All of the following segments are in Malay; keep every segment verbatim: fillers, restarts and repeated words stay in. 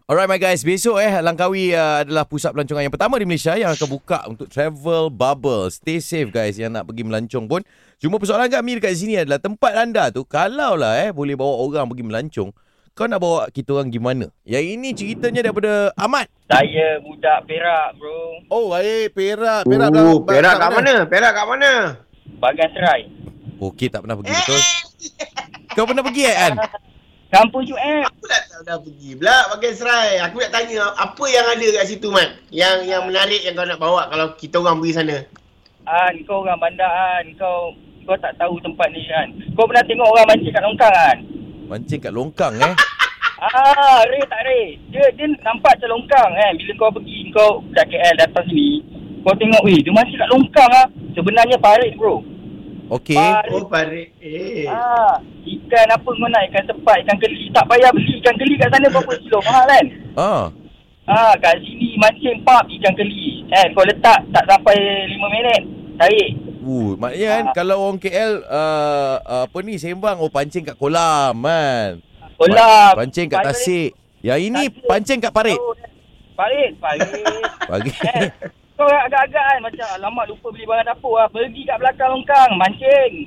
Alright my guys, besok eh Langkawi uh, adalah pusat pelancongan yang pertama di Malaysia yang akan buka untuk travel bubble. Stay safe guys yang nak pergi melancong pun. Cuma persoalan kami dekat sini adalah tempat anda tu kalau lah eh boleh bawa orang pergi melancong, kau nak bawa kita orang gimana? Yang ini ceritanya daripada Ahmad. Saya budak Perak bro. Oh, baik. Perak. Perak, Oh, Perak kat mana? Perak kat mana? Bagan Serai. Okey, tak pernah pergi betul. Kau pernah pergi eh An? Kampung U M. Aku dah tak dah pergi pula Bagan Serai. Aku nak tanya apa yang ada kat situ Mat? Yang yang menarik yang kau nak bawa kalau kita orang pergi sana. An, kau orang bandar An. Kau kau tak tahu tempat ni An. Kau pernah tengok orang mancing kat longkang An? Mancing kat longkang eh. Ah, Ray tak Ray. Dia dia nampak macam longkang kan. Bila kau pergi kau kat K L datang sini, kau tengok weh dia mancing kat longkang ah. Sebenarnya parit bro. Okey. Oh, parit. Eh. Ah, ikan apa kau nak? Ikan sepat, ikan keli. Tak payah beli ikan keli kat sana berapa kilo mahal kan? Ah. Ah, kat sini mancing pap ikan keli. Eh, kau letak tak sampai lima minit. Tarik. Uh, maknanya kan Ah. kalau orang K L uh, uh, apa ni sembang oh pancing kat kolam kan. Kolam. Pancing kat Parit. tasik. Yang ini Tasik. pancing kat parit. Oh, parit, parit. Bagi. Eh, kau agak-agak kan macam alamak lupa beli barang dapur lah. Pergi kat belakang longkang mancing.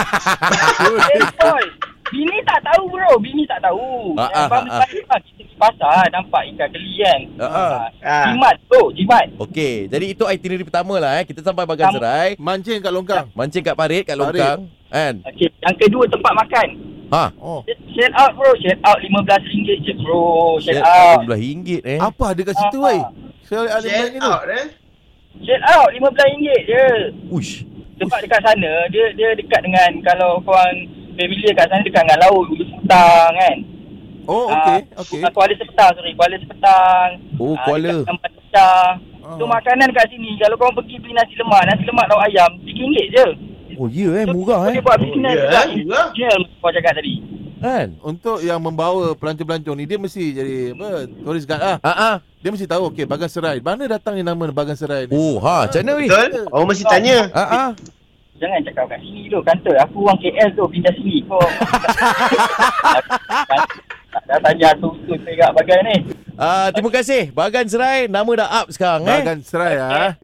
Eh, boy. Bini tak tahu bro. Bini tak tahu. Ah, Eh, ah, abang ah, ah. balik lah. Kita pergi pasar nampak ikan keli kan. Ah, ah. Ah. Jimat bro. Jimat. Okey, jadi itu itinerary pertama lah eh. Kita sampai Bagan Sam- Serai, Mancing kat longkang. mancing kat parit, kat Parit. longkang kan. Okay. Yang kedua tempat makan. Ha. Oh. Shell out bro. Shell out lima belas ringgit je bro. Shell Set out. RM enam ringgit eh. Apa ada kat situ, Ah. weh? Saya ada Share ni tu. out eh. Shell out lima belas ringgit je. Uish. Sebab dekat sana dia dia dekat dengan kalau korang familiar kat sana dekat dengan laut Ulu Sepetang kan. Oh, Ah, okey. Okey. ah, Kuala Sepetang sorry, Kuala Sepetang. Oh, Ah, Kuala. Dekat tempat pecah. Ah. So makanan kat sini kalau korang pergi beli nasi lemak, nasi lemak lauk ayam tiga ringgit je. Oh, ya eh, murah eh. Boleh buat Oh, bisnes ya, juga. eh, murah. Jual kau cakap tadi. Kan? Untuk yang membawa pelancong-pelancong ni, dia mesti jadi apa? Tourist guide lah. Ha ah. Dia mesti tahu, okey, Bagan Serai. Mana datangnya nama Bagan Serai ni? Oh, ha, macam mana weh? Betul? Orang mesti tanya. Ha ah. Jangan cakap kat sini tu kata aku orang K L tu pindah sini kau. Dah tanya tu tu perak bagai ni. Ah, terima kasih. Bagan Serai nama dah up sekarang eh. Bagan Serai ah.